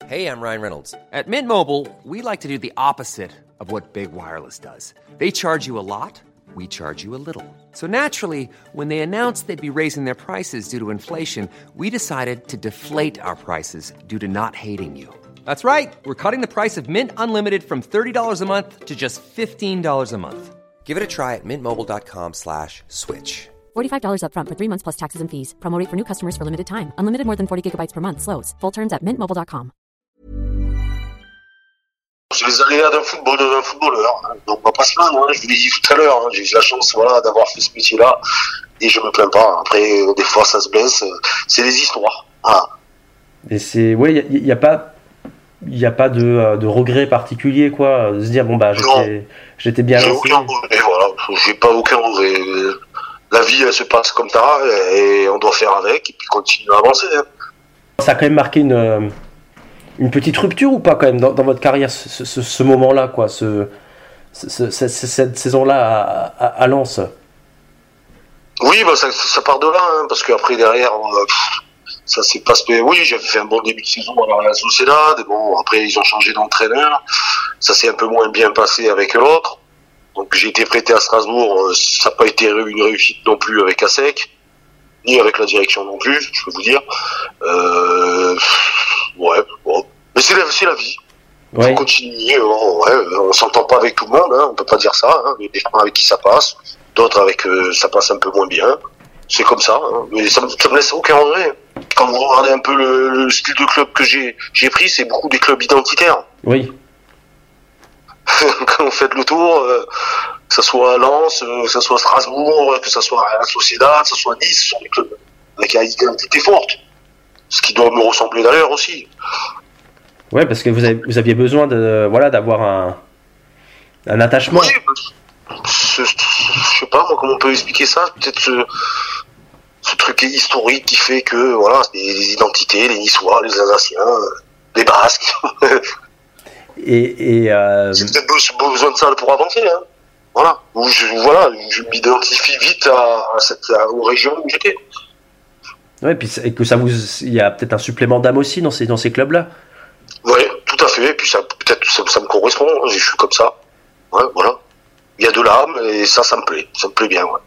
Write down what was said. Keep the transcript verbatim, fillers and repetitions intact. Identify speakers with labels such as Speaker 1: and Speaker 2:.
Speaker 1: Hey, I'm Ryan Reynolds. At Mint Mobile, we like to do the opposite of what Big Wireless does. They charge you a lot, we charge you a little. So naturally, when they announced they'd be raising their prices due to inflation, we decided to deflate our prices due to not hating you. That's right. We're cutting the price of Mint Unlimited from thirty dollars a month to just fifteen dollars a month. Give it a try at mintmobile.com slash switch.
Speaker 2: forty-five dollars up front for three months plus taxes and fees. Promo rate for new customers for limited time. Unlimited more than forty gigabytes per month. Slows full terms at mint mobile dot com.
Speaker 3: C'est les aléas d'un football, d'un footballeur. Donc on va pas se plaindre, hein. Je vous l'ai dit tout à l'heure, hein. J'ai eu la chance, voilà, d'avoir fait ce métier-là et je me plains pas. Après, des fois, ça se blesse. C'est des histoires. Voilà.
Speaker 4: Et c'est, ouais, il y, y a pas, il y a pas de, de regret particulier, quoi. De se dire bon bah j'étais, j'étais bien
Speaker 3: j'ai
Speaker 4: lancé.
Speaker 3: aucun regret, voilà. J'ai pas aucun regret. La vie, elle se passe comme ça et on doit faire avec et puis continuer à avancer. Hein.
Speaker 4: Ça a quand même marqué une. Une petite rupture ou pas quand même dans, dans votre carrière, ce, ce, ce moment-là, quoi, ce, ce, ce, cette saison-là à, à, à Lens?
Speaker 3: Oui, bah ça, ça part de là, hein, parce qu'après derrière, euh, ça s'est pas passé. Oui, j'avais fait un bon début de saison à la Sociedad. Bon, après ils ont changé d'entraîneur, ça s'est un peu moins bien passé avec l'autre. Donc j'ai été prêté à Strasbourg, ça n'a pas été une réussite non plus avec Asec, ni avec la direction non plus, je peux vous dire. Euh, Ouais, bon. Mais c'est la, c'est la vie. Il ouais. faut continuer. Oh, ouais, on s'entend pas avec tout le monde, hein, on peut pas dire ça. Hein. Il y a des gens avec qui ça passe, d'autres avec euh, ça passe un peu moins bien. C'est comme ça. Hein. Mais ça, ça me laisse aucun regret. Quand vous regardez un peu le, le style de club que j'ai, j'ai pris, c'est beaucoup des clubs identitaires.
Speaker 4: Oui.
Speaker 3: Quand vous faites le tour, euh, que ça soit à Lens, euh, que ça soit à Strasbourg, que ça soit à la Sociedad, que ça soit à Nice, ce sont des clubs avec une identité forte. Ce qui doit me ressembler d'ailleurs aussi.
Speaker 4: Ouais, parce que vous, avez, vous aviez besoin de, voilà, d'avoir un, un attachement.
Speaker 3: Oui, ce, je sais pas moi comment on peut expliquer ça. Peut-être ce, ce truc historique qui fait que voilà, les identités, les Niçois, les Alsaciens, les Basques.
Speaker 4: et, et euh...
Speaker 3: J'ai peut-être besoin de ça pour avancer. Hein. Voilà. Ou je, voilà, je m'identifie vite à, à cette, à, aux régions où j'étais.
Speaker 4: Ouais, puis et que ça vous, il y a peut-être un supplément d'âme aussi dans ces dans ces clubs-là.
Speaker 3: Ouais, tout à fait. Et puis ça, peut-être ça, ça me correspond. Je suis comme ça. Ouais, voilà. Il y a de l'âme et ça, ça me plaît. Ça me plaît bien. Ouais.